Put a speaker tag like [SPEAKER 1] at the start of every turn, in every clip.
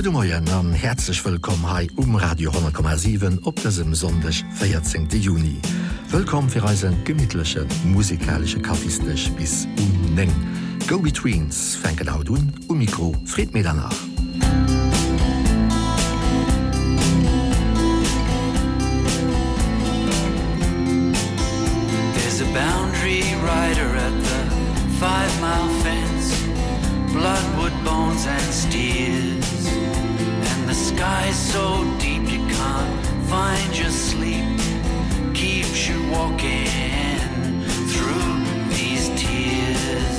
[SPEAKER 1] Gute Morgen und herzlich willkommen hier Radio 100,7 auf diesem Sonntag, 14. Juni. Willkommen für unseren gemütlichen musikalischen Kaffeestisch bis 9. Go-Betweens fängt auch an, Mikro Fred mir danach.
[SPEAKER 2] There's a boundary rider at the 5-mile fence, bloodwood bones and steers, and the sky's so deep you can't find your sleep, keeps you walking through these tears.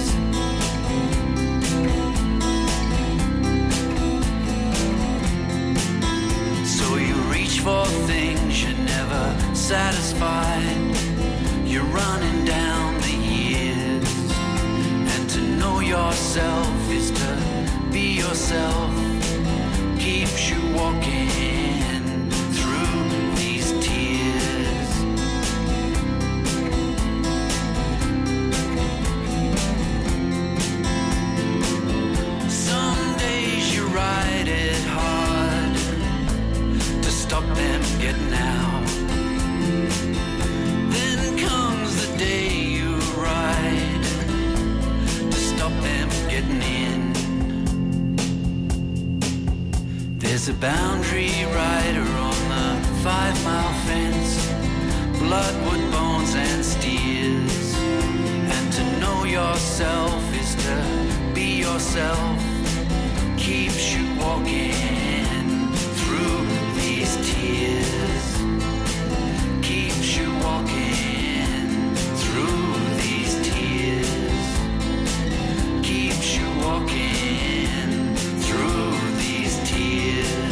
[SPEAKER 2] So you reach for things you're never satisfied, you're running down the years, and to know yourself is to be yourself, keeps you walking through these tears. Some days you ride it hard to stop them getting out. Then comes the day you ride to stop them getting in. There's a boundary rider on the 5-mile fence, bloodwood bones and steers, and to know yourself is to be yourself, keeps you walking through these tears, keeps you walking through these tears, keeps you walking through these tears.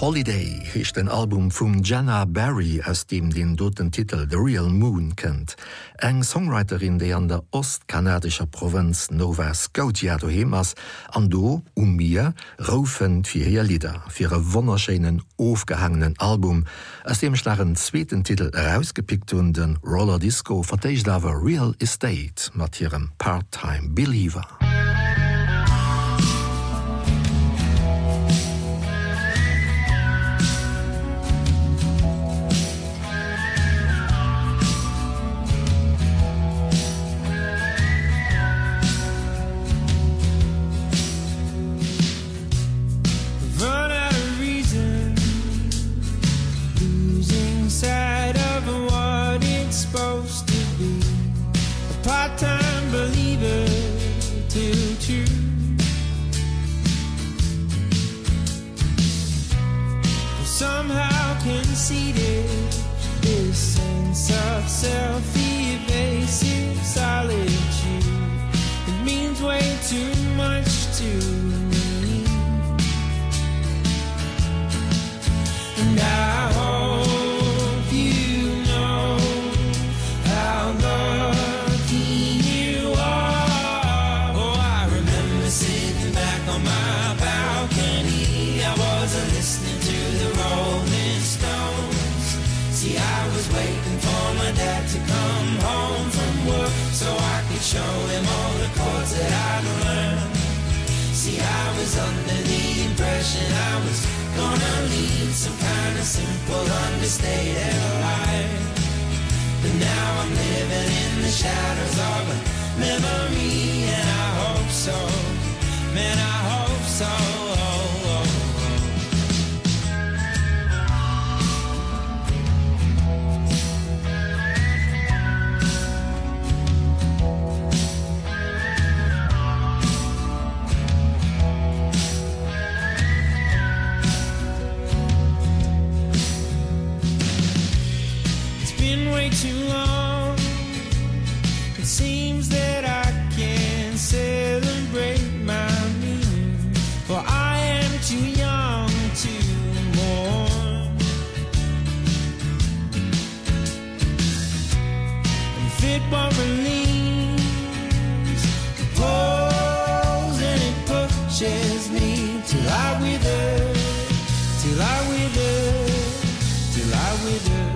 [SPEAKER 1] Holiday ist ein Album von Jenna Barry, aus dem den doten Titel The Real Moon kennt. Eng Songwriterin, die an der ostkanadischer Provinz Nova Scotia daheim ist, an do, mir, raufen für ihr Lieder, für ihren wunderschönen, aufgehangenen Album, aus dem schlagen zweiten Titel herausgepickt und den Roller Disco verteidigt aber Real Estate mit ihrem Part-Time Believer.
[SPEAKER 3] Self-evasive solitude, it means way too much to me. And I hope you know how lucky you are. Oh, I remember sitting back on my balcony. I wasn't listening to the Rolling Stones. See, I was waiting for my dad to come home from work so I could show him all the chords that I'd learned. See, I was under the impression I was gonna lead some kind of simple, understated life. But now I'm living in the shadows of a memory, and I hope so, man, I hope so. Too long, it seems that I can't celebrate my meaning, for I am too young to mourn. If it won't release, it pulls and it pushes me till I wither, till I wither, till I wither.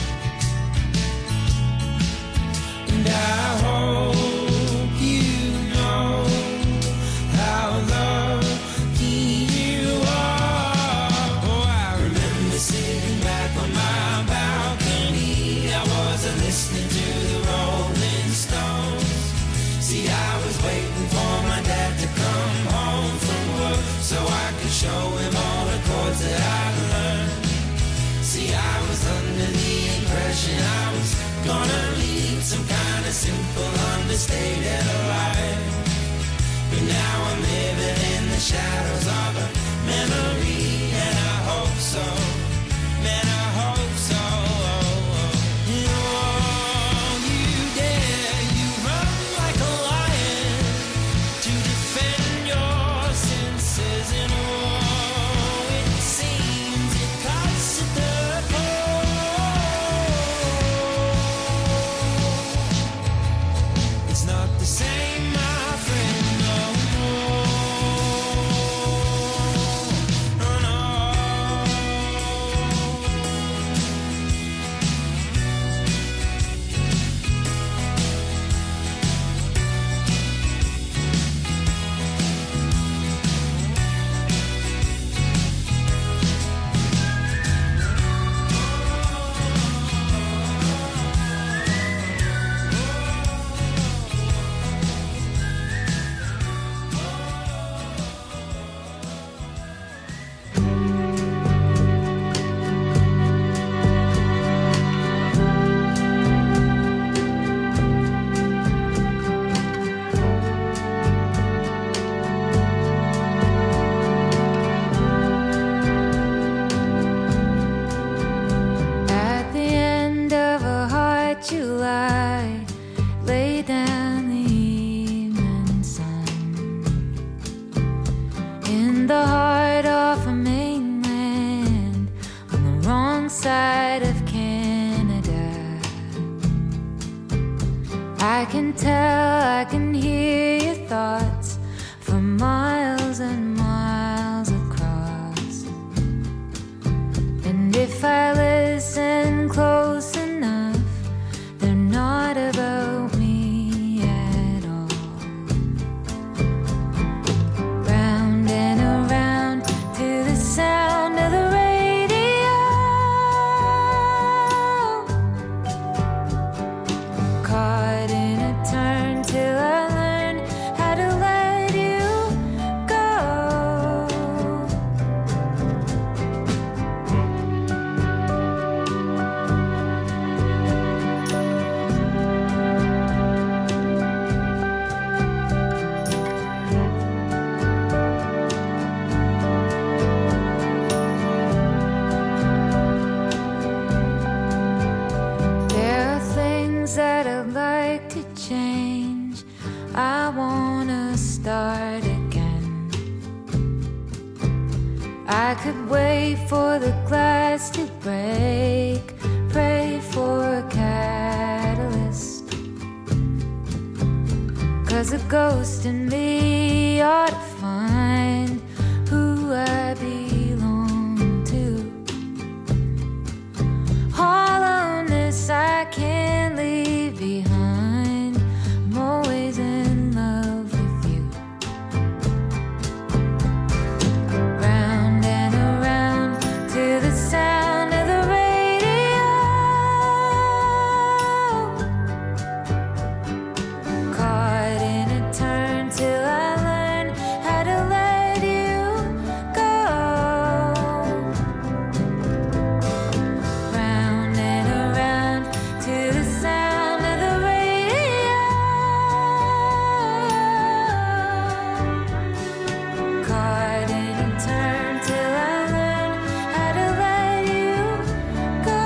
[SPEAKER 3] I hope you know how lucky you are. Oh, I remember sitting back on my balcony. I wasn't listening to the Rolling Stones. See, I was waiting for my dad to come home from work so I could show him all the chords that I'd learned. See, I was under the impression I was gonna lead some kind of simple, understated life. But now I'm living in the shadows of a memory, and I hope so, man, I hope so. And all you dare, you run like a lion to defend your senses, and oh, it seems it cuts at the not the same, my friend, no more. Oh, no.
[SPEAKER 4] in the heart of a mainland. I can tell, I can hear your thoughts from miles and miles across. And if I listen close enough, they're not about me at all. Round and around to the sound of the radio, caught in a turn till I learned how to let you go. There are things that I'd like to change. I wanna start again. I could wait for the glass to break, pray for a catalyst. 'Cause a ghost in me ought to find who I belong to. Hollowness I can't leave behind. I'm always in love with you. Round and around to the sound of the radio, caught in a turn till I learned how to let you go. Round and around to the sound of the radio, caught in a turn till I learned how to let you go.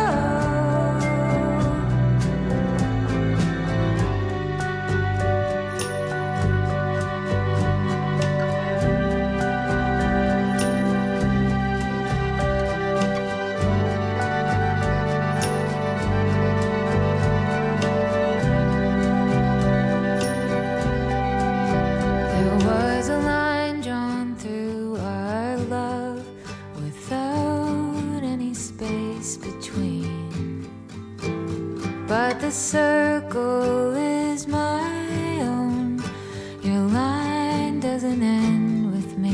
[SPEAKER 4] There was a line drawn through our love without any space between. But the circle is my own. Your line doesn't end with me.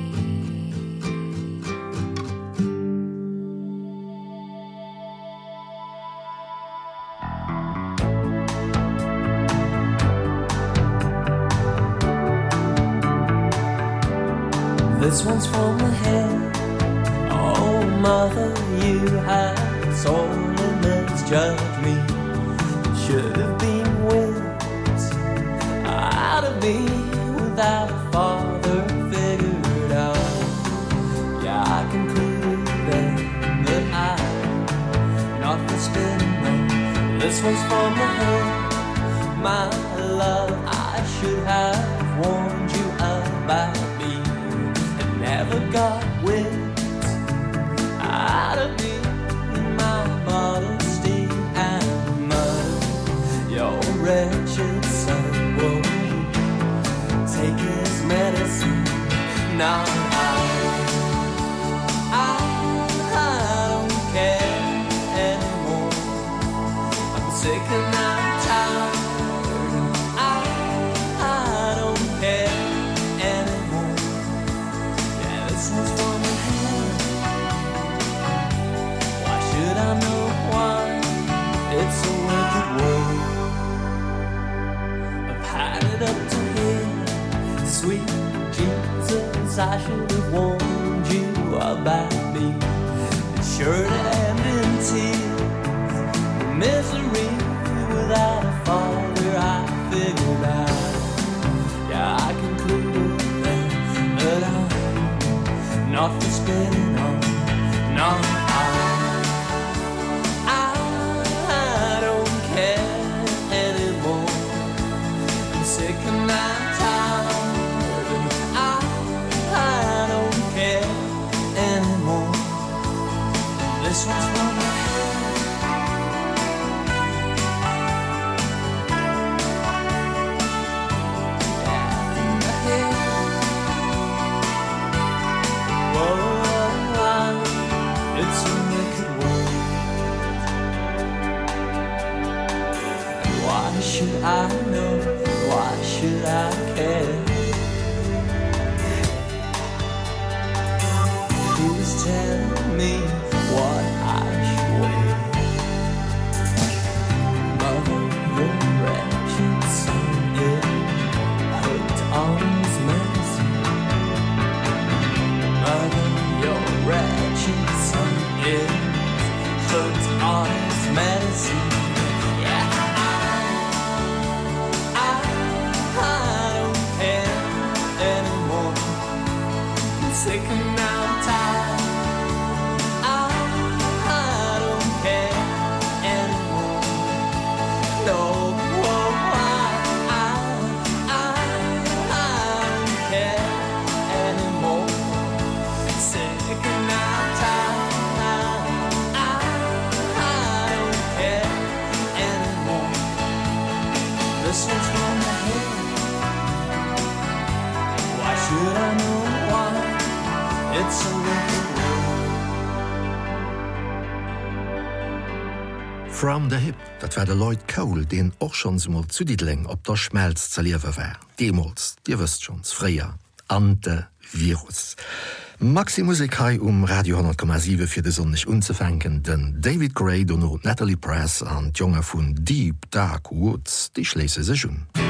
[SPEAKER 5] This one's from the head. Oh, mother, you had so misjudged me. Should have been whipped out of me without a father figured out. Yeah, I concluded then that I'm not for spinning wrong. This one's from the head. My love, I should have warned you about me. Never got whipped out of me in my modesty and mud. Your wretched son will take his medicine. Now I don't care anymore. I'm sick and I'm tired. I don't care anymore. This one's from the head. Why should I know why? It's a wicked world. I've had it up to here. Sweet Jesus, I should have warned you about me. It's sure to end in tears. The misery without a father, I figured out. Yeah, I concluded then that I'm not for spinning on. No, I don't care anymore. I'm sick and I'm tired, and I don't care anymore. This one's from my head. sick and now I'm tired. I don't care anymore. No, I don't care anymore. Sick and now I'm tired. I don't care anymore. This one's from the head. Why should I know why? It's a wicked world.
[SPEAKER 1] From the Hip, dat war der Lloyd Cole, den och schon mal zu Diedling op der Schmelz zerliewe war. Demos, dir wisst schons, freier, Antivirus. Maxi-Musik hai Radio 10,7 fir de sonnig unzufänken, den David Gray, Dono, Natalie Press an d'Jonge vun Deep Dark Woods, die schlese sech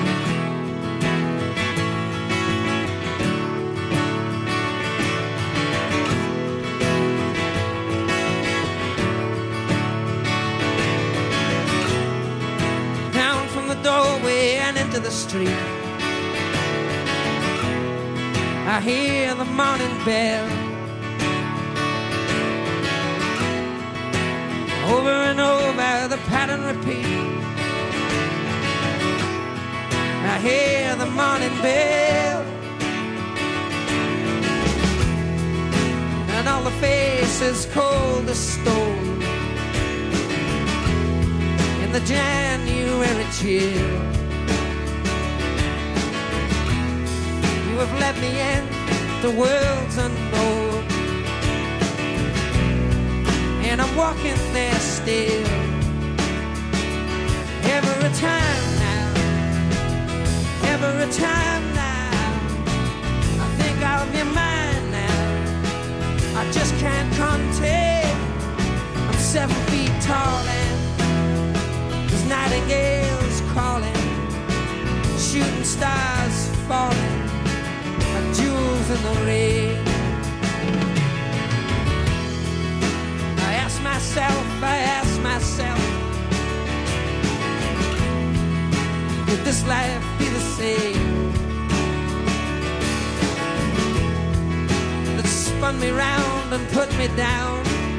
[SPEAKER 3] Down from the doorway and into the street, I hear the morning bell. Over and over the pattern repeat. I hear the morning bell. And all the faces cold as stone in the January chill. You have let me in the world's unknown, and I'm walking there still. Every time now, every time now, I think I'll be mine now. I just can't contain. I'm 7 feet tall and there's nightingales calling, shooting stars falling, jewels in the rain. I ask myself, could this life be the same? That spun me round and put me down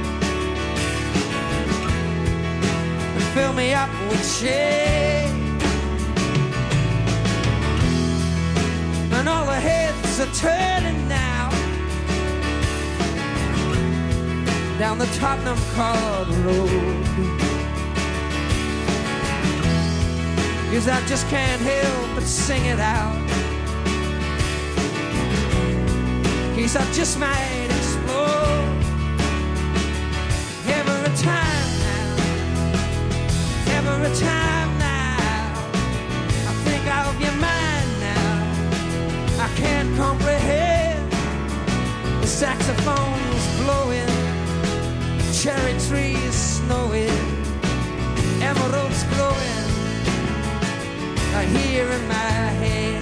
[SPEAKER 3] and fill me up with shame. And all the heads are turning now down the Tottenham Court Road, 'cause I just can't help but sing it out, 'cause I just might explode. Every time now, every time now, I think I'll be mine now. I can't comprehend. The saxophone's blowing, cherry trees snowing, emeralds glowing, I hear in my head.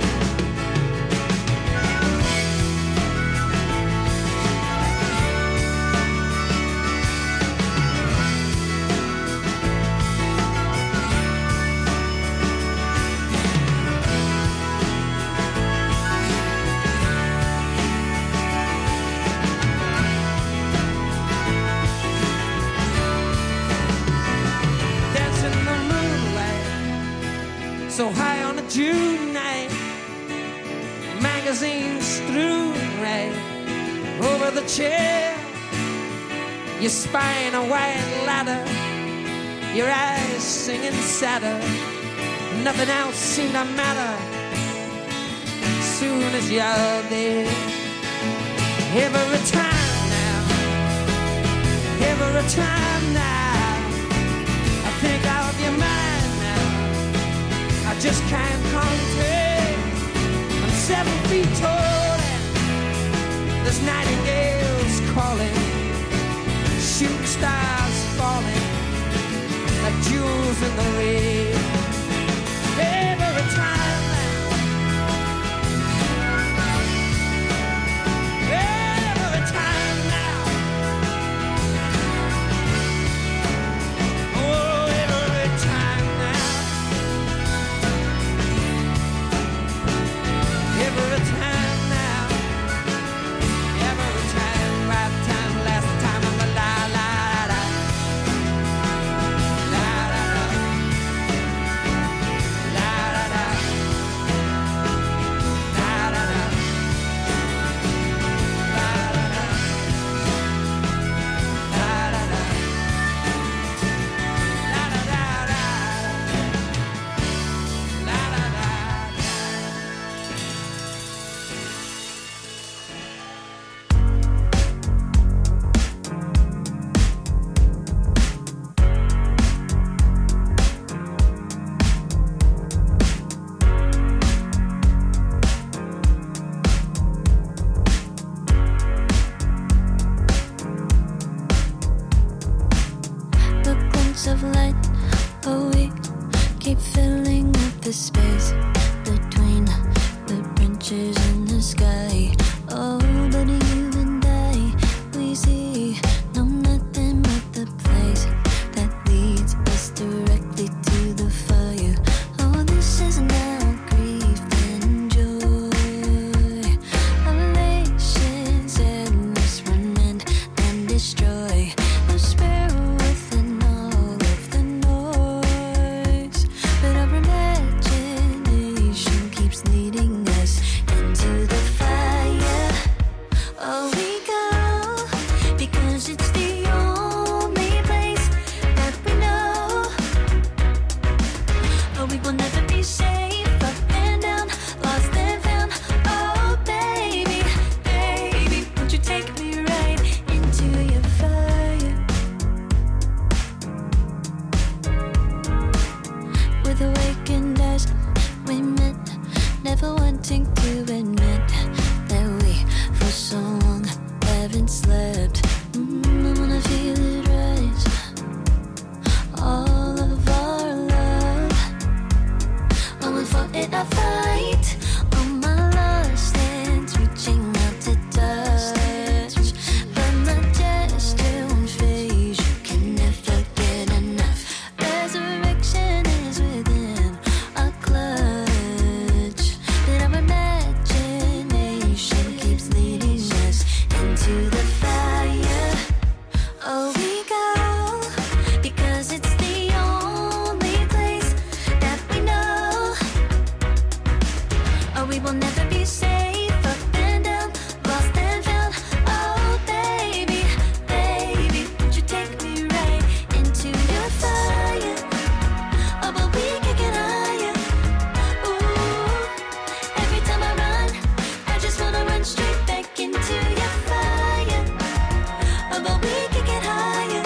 [SPEAKER 3] So high on a June night, magazines strewn right over the chair. You spine a white ladder, your eyes singing sadder. Nothing else seemed to matter soon as you're there. Every time now, every time now, I think I'll be mine now. I just can't contain. I'm 7 feet tall and there's nightingales calling, shooting stars falling like jewels in the rain. Every time now, every time now, oh, every time now, every time now, every
[SPEAKER 6] sky. Oh, but you and I, we see no nothing but the place that leads us directly to the fire. Oh, this is now grief and joy. Elation, sadness, remand and destroy. The spirit within all of the noise. But our imagination keeps leading us into the fire. Oh, we go because it's the only place that we know. Oh, we will never be safe up and down, lost and found. Oh, baby, baby, won't you take me right into your fire? With awakened eyes, we met, never wanting to admit that we, for so long, haven't slept. I wanna feel it rise, all of our love. Oh, we fought in a fight, all my lost hands reaching out to touch. But my gesture won't phase, you can never get enough. Resurrection is within our clutch. But our imagination keeps leading us into the fire. Oh, we go because it's the only place that we know. Oh, we will never be safe up and down, lost and found. Oh, baby, baby, won't you take me right into your fire? Oh, but we can get higher. Ooh, every time I run, I just wanna run straight back into your fire. Oh, but we can get higher.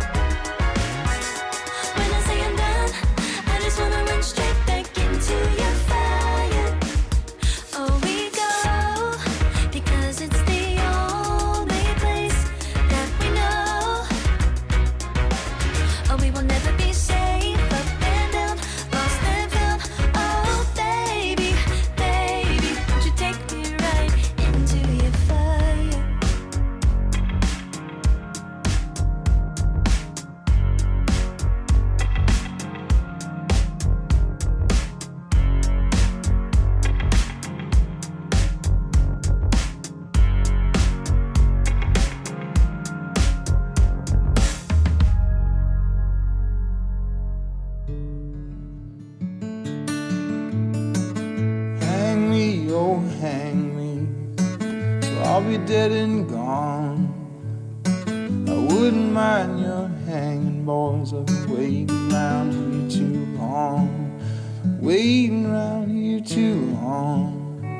[SPEAKER 6] When I say I'm done, I just wanna run straight back into your fire. Oh, we go because it's the only place that we know. Oh, we will never be safe up and down, lost and found. Oh, baby, baby, won't you take me right into your fire?
[SPEAKER 3] Hang me, oh hang me, so I'll be dead and gone. I wouldn't mind your hanging, boys. I've been waiting round here too long, waiting round here too long.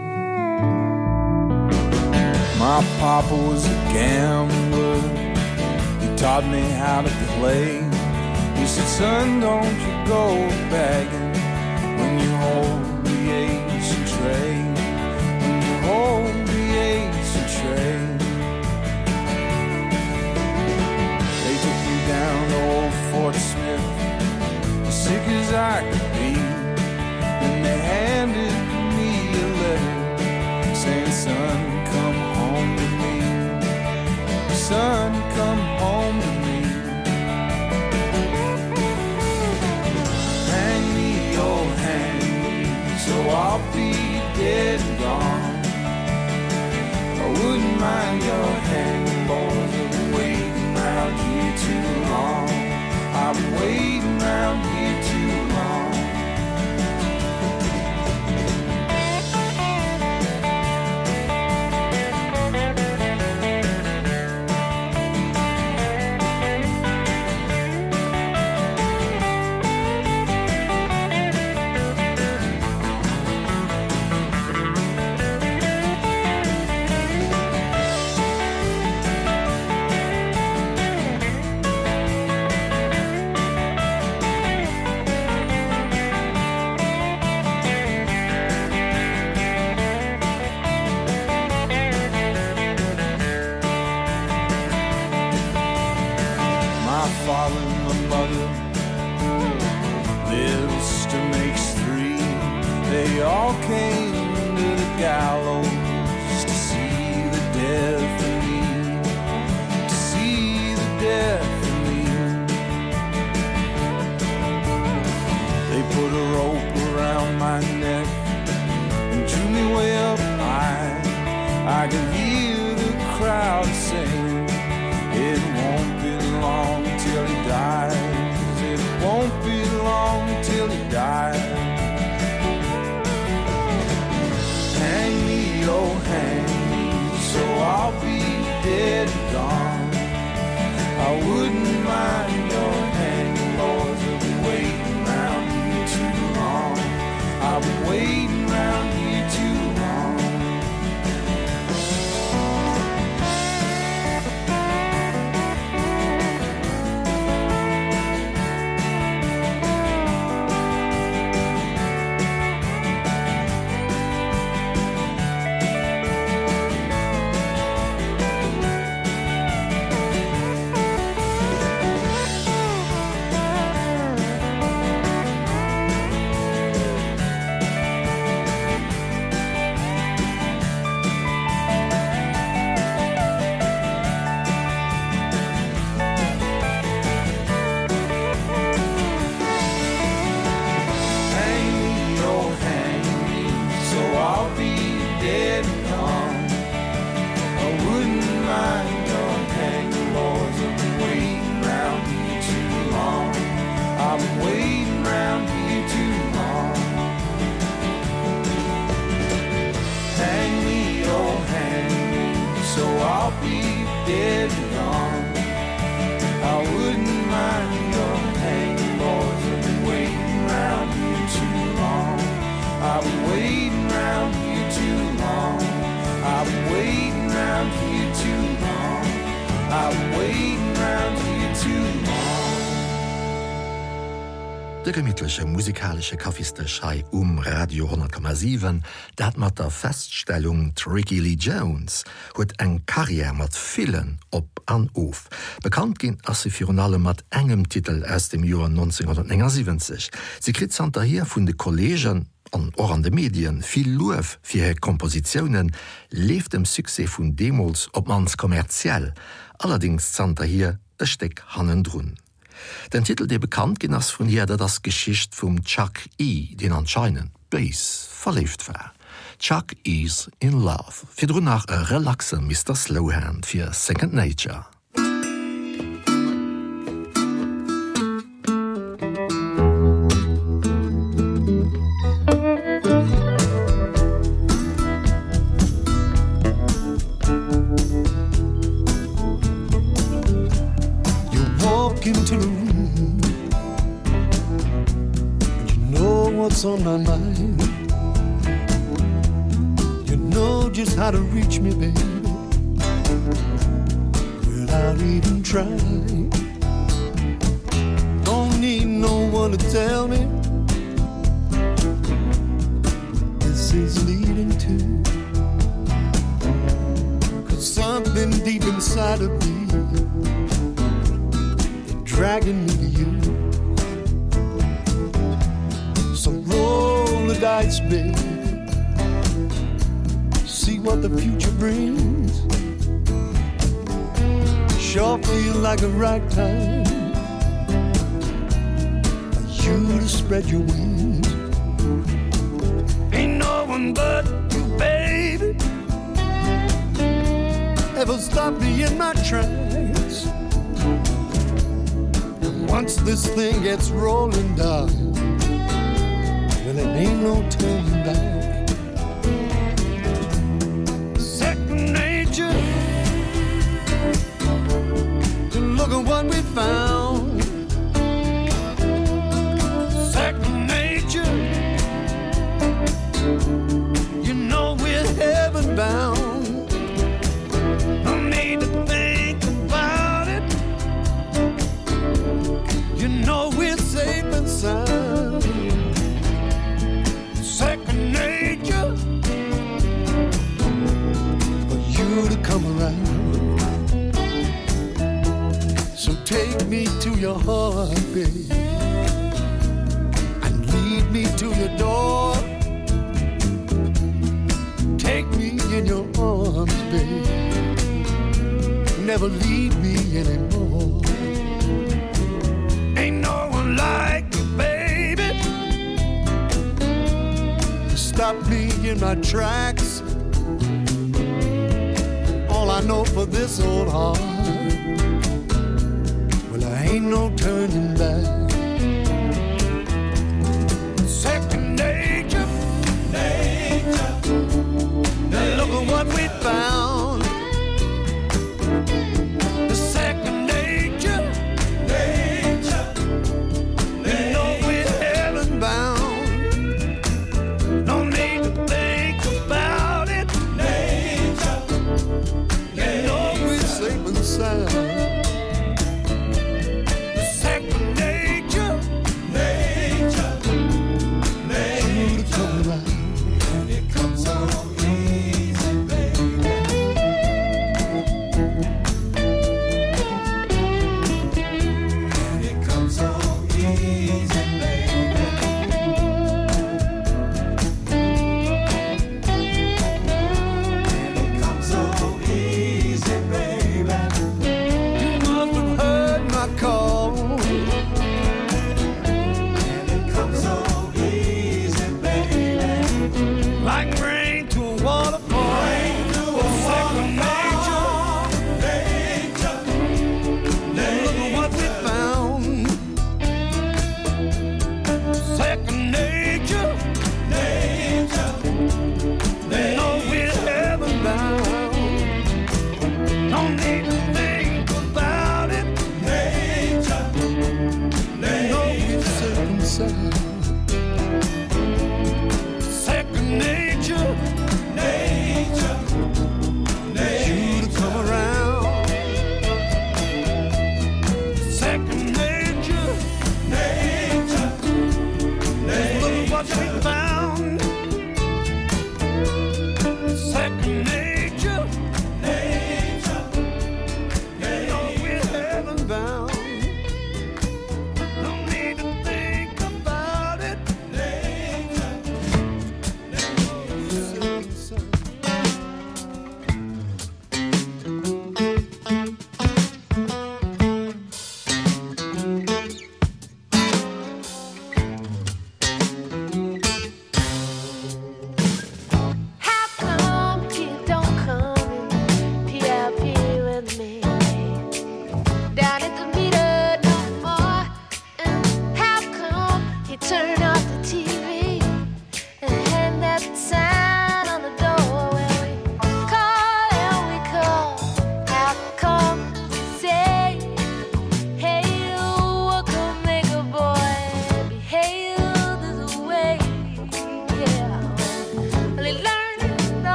[SPEAKER 3] My papa was a gambler, he taught me how to play. He said, son, don't you go begging when you hold the ace and tray, when you hold the ace and tray. They took me down to old Fort Smith, as sick as I could be, and they handed me a letter saying, son, come home to me, son, come home to me. Hang me, oh hang me, so I'll be dead and gone. I wouldn't mind your hanging, boys. I've been waiting round here too long, I've been waiting round here too long. father and my mother. Little sister makes three. They all came to the gallows I can hear the crowd sing. It won't be long till he dies. It won't be long till he dies. Hang me, oh hang me, so I'll be dead and gone. I wouldn't mind your hanging, Lord. I've been waiting around here too long. I've been waiting around here too long.
[SPEAKER 1] De gemütliche musikalische Kaffeestechei Radio 10,7, dat mat der Feststellung Tricky Lee Jones huet eng Karriere mat Fillen op an of. Bekannt ginn as se Fionale mat engem Titel aus dem Joer 1970. Sie krit anter hier vun de Kollegen an or an de Medien viel Louf fir her Kompositionen leef dem Suse vun Demos op mans kommerziell. Allerdings zanter hier e Steck hannendrun. Den Titel, der bekannt genoss von hier, das Geschicht vom Chuck E., den anscheinend Bass verlebt war. Chuck is in love. Für drunach ein relaxen Mr. Slowhand für Second Nature.
[SPEAKER 7] Into the room, you know what's on my mind. You know just how to reach me, baby, without even trying. Don't need no one to tell me this is leading to, 'cause something deep inside of me dragging me to you. So roll the dice, baby, see what the future brings. Sure feel like a right time for you to spread your wings. Ain't no one but you, baby, ever stop me in my tracks. Once this thing gets rolling down, well, it ain't no turning back. Second nature, to look at what we found. Second nature, you know we're heaven bound. No need to think about it. You know we're safe and sound. Second nature for you to come around. So take me to your heart, babe, and lead me to your door. Take me in your arms, babe, never leave me anymore. Ain't no one like you, baby, to stop me in my tracks. know for this old heart, well, there ain't no turning back. Second nature, nature. Now look at what we found. The second nature, nature. You know we're heaven bound. No need to think about it. Nature. You know we're safe and sound.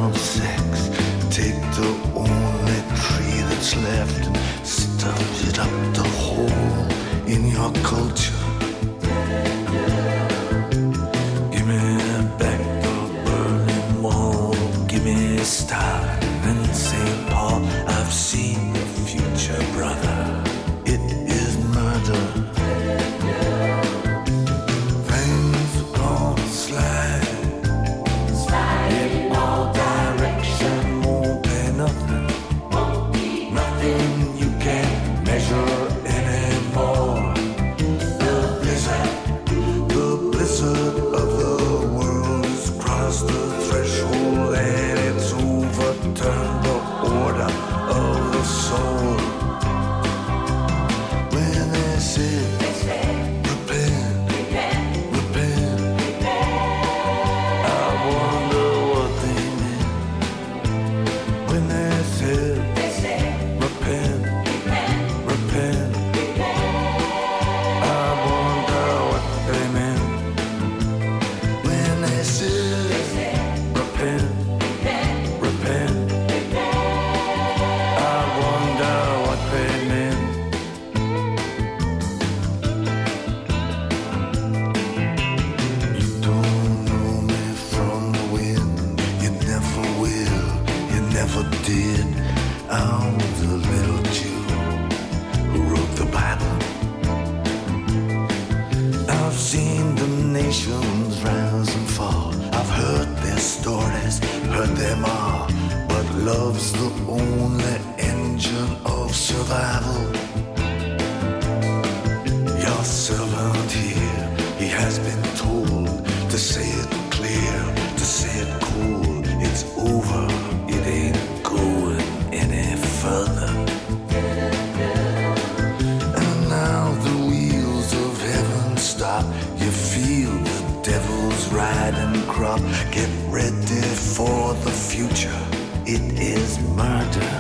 [SPEAKER 8] of sex. Take the only tree that's left and stuff it up the hole in your culture. Give me back the Berlin Wall. Give me Stalin and St. Paul. I've seen the future, brother. It is murder. Things are gonna slide in all direction. Won't be nothing. Nothing you can't measure anymore. The blizzard of the world has crossed the threshold and it's overturned the order of the soul. When they say repent, repent, I wonder what they meant. When they said repent, repent, I wonder what they meant. When they said repent, repent, I wonder what they meant. You don't know me from the wind. You never will. You never did. I'm the little Jew who wrote the Bible. I've seen the nations rise and fall. I've heard their stories, heard them all. But love's the only engine of survival. Your servant here, he has been told to say it clear, to say it cool. It's over, it ain't going any further. And now the wheels of heaven stop. You feel the devil's riding crop. Get ready for the future. It is murder.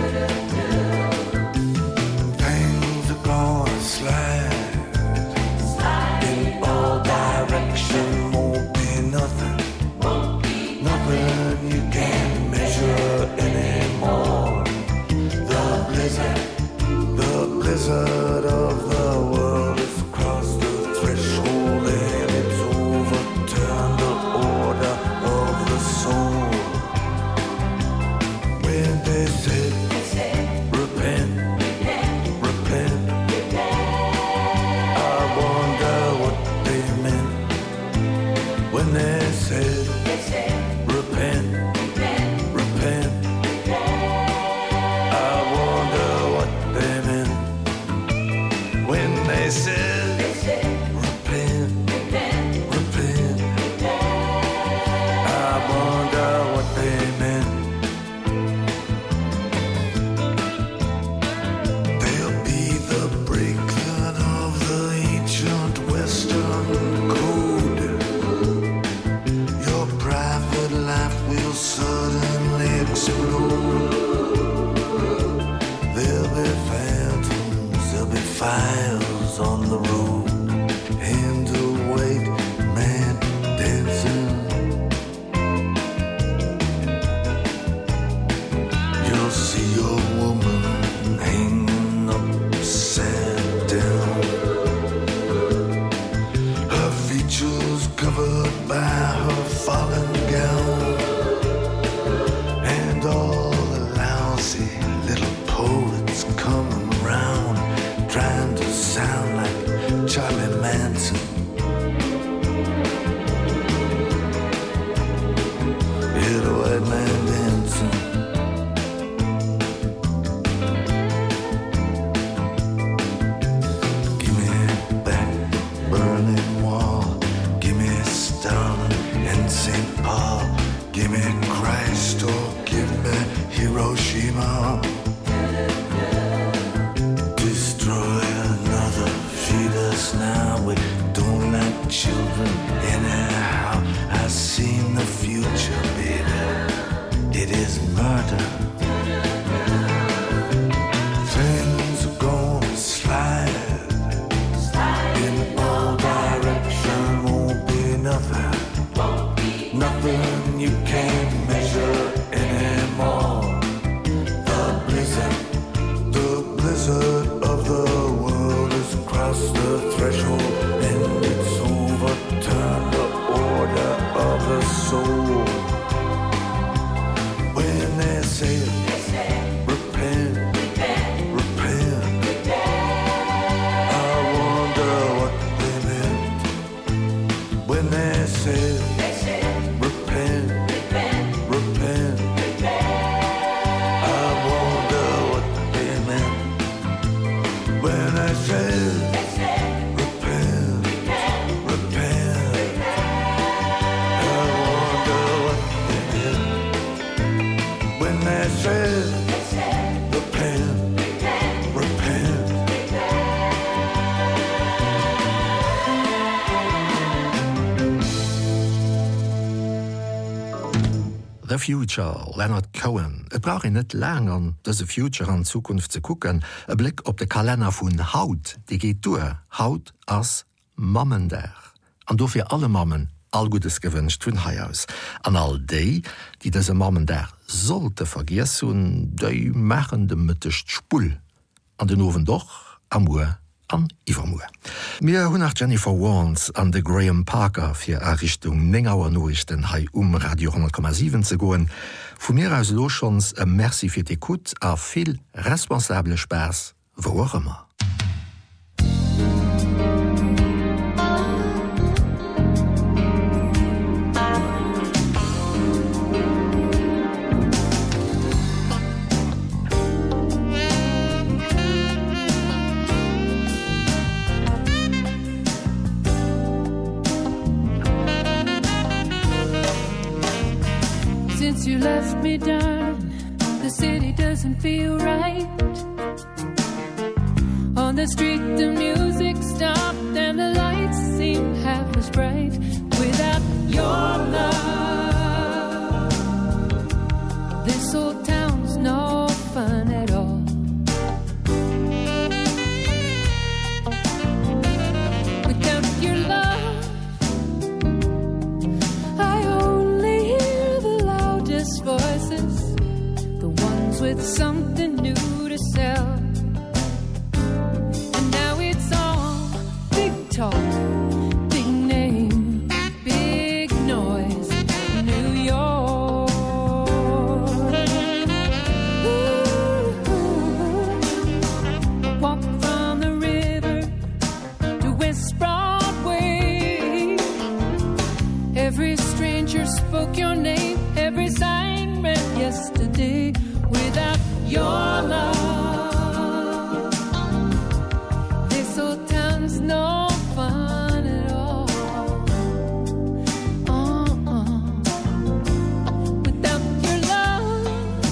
[SPEAKER 8] Things are gonna slide in all direction. Won't be nothing. Nothing you can't measure anymore. The blizzard of the world has crossed the threshold and it's overturned the order of the soul. When they said repent, repent, I wonder what they meant. When they said repent, repent, I wonder what they meant. When they said repent, repent, I wonder what they meant. They'll be the breaking of the ancient Western code. Your private life will suddenly explode. There'll be phantoms, there'll be fires on the road. And a white man dancing. You'll see your woman hanging upside down. Her features covered by her fallen gown. And all the lousy little poets coming round, trying to sound like Charlie Manson. Hear the white man dancing. Give me back the Berlin Wall. Give me Stalin and St. Paul. Give me Christ or give me Hiroshima. Destroy another, feed us now. We don't like children anyhow. I've seen the future, baby. It is murder. Things are gonna slide in all direction. Won't be nothing. Nothing you can't measure said, repent, repent.
[SPEAKER 1] The Future, Leonard Cohen. Et brauch net lang an dëse Future an Zukunft ze kucken, e Blick op de Kalender vun Haut, Di geht due, Haut ass Mammendär. An do fir alle Mammen all Gutes gewünscht vun Haiaus. An all déi, die dëse Mammendär sollte vergiess hun, déi machen de Mëttecht Spull. An den Owen doch, Amur an Iwermoer. Mir hunn nach Jennifer Warnes an de Graham Parker fir Errichtung Nengauer Noichten hai Radio 10,7 ze goen, vu mir aus Lochons e Merci fir d'Ekut a vill responsable Spers wo auch immer.
[SPEAKER 9] Since you left me, darling, the city doesn't feel right. On the street the music stopped and the lights seem half as bright. Without your love, this old town's no fun at all. Without your love, I only hear the loudest voices, the ones with something new to sell. And now it's all big talk, big name, big noise, New York. Ooh, I walk from the river to West Broadway. Every stranger spoke your name, every sign read yesterday. Without your love, this old town's no fun at all. Without your love,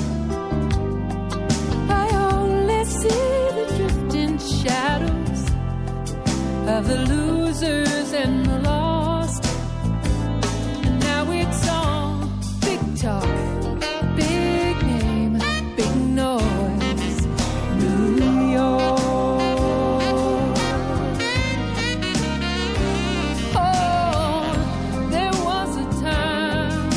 [SPEAKER 9] I only see the drifting shadows of the losers and the lost. And now it's all big talk, big name, big noise, New York. Oh, there was a time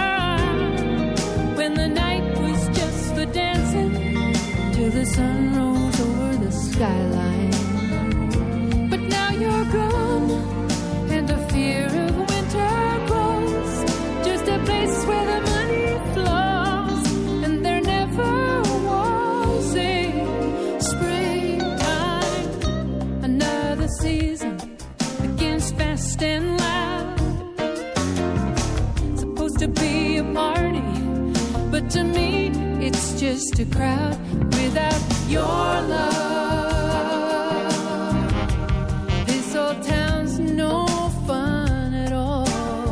[SPEAKER 9] when the night was just for dancing till the sun rose over the skyline. But now you're gone, and the fear of winter grows. Just a place where the money flows, and there never was a springtime. Another season begins fast and loud. Supposed to be a party, but to me it's just a crowd. Without your love, this old town's no fun at all.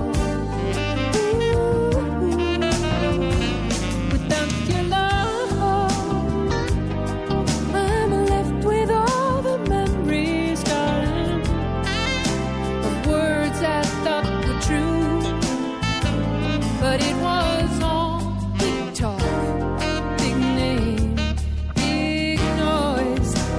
[SPEAKER 9] Without your love, I'm left with all the memories, darling, of words I thought were true, but it was all big talk, big name, big noise,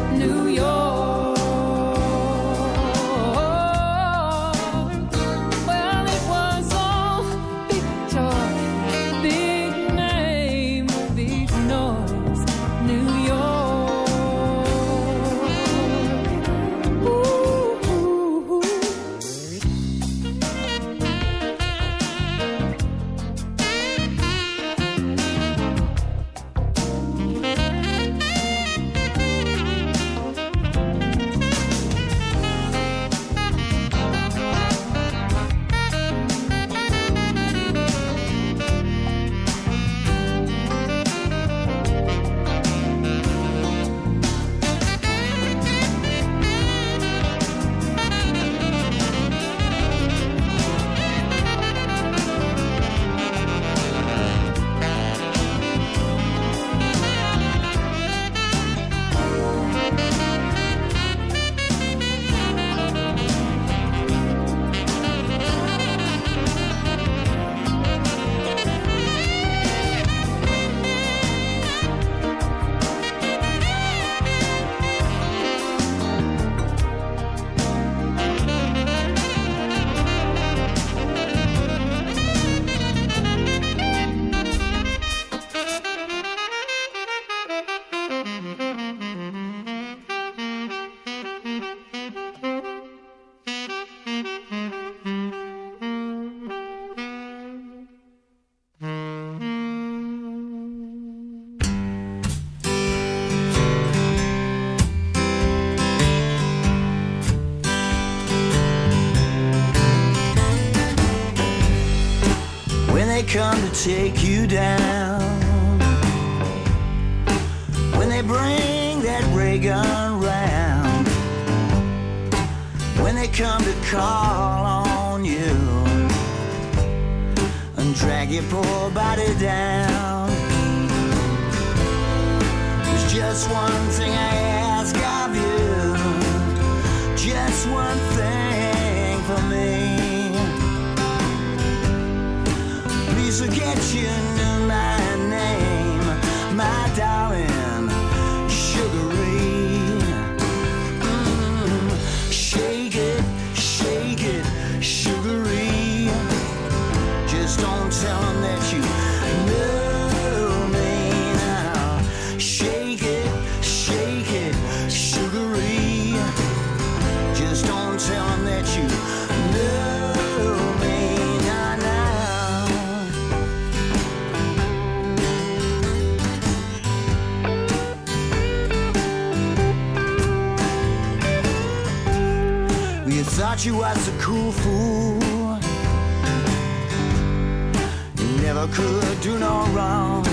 [SPEAKER 10] take you down. When they bring that ray gun round, when they come to call on you and drag your poor body down, there's just one thing I ask of you, just one thing for me. Please forget you knew my name, my darling, sugary. Shake it, sugary. Just don't tell them that you know me now. Shake it, sugary. Just don't tell them that you know me now, now. We thought you was a cool fool. You never could do no wrong.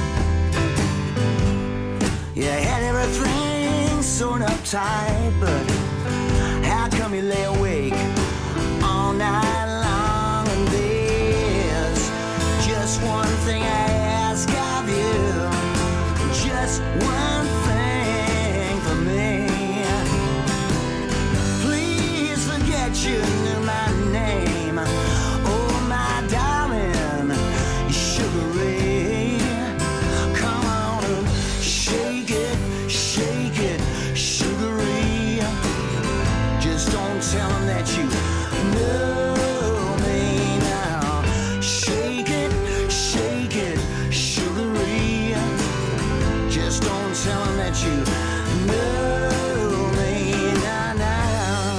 [SPEAKER 10] You had everything sewn up tight, but how come you lay awake all night long? And there's just one thing I ask of you, just one thing for me. Please forget you knew my name, oh my darling, sugary. Come on and shake it, sugary. Just don't tell them that you know me now. Shake it, sugary. Just don't tell them that you know me now, now.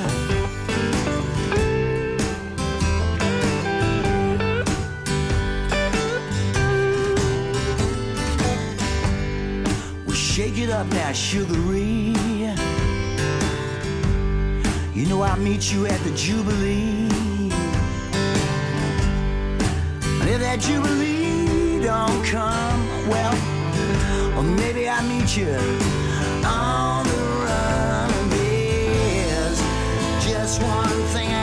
[SPEAKER 10] Well, shake it up now, sugary. You know I'll meet you at the Jubilee. And if that Jubilee don't come, well, or maybe I'll meet you on the run. There's just one thing